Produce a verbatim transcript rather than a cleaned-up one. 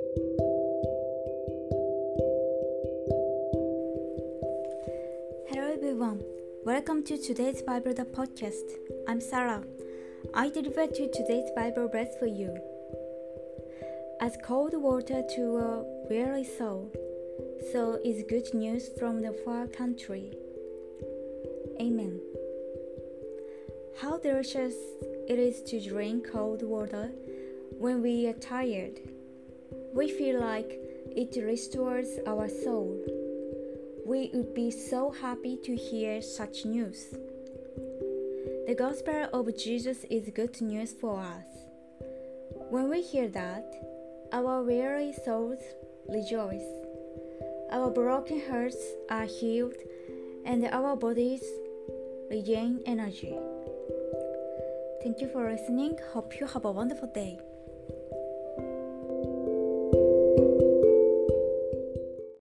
Hello everyone, welcome to today's Bible the podcast. I'm Sarah. I deliver to today's Bible verse for you. As cold water to a weary soul, so is good news from the far country. Amen. How delicious it is to drink cold water when we are tired. We feel like it restores our soul. We would be so happy to hear such news. The gospel of Jesus is good news for us. When we hear that, our weary souls rejoice. Our broken hearts are healed and our bodies regain energy. Thank you for listening. Hope you have a wonderful day.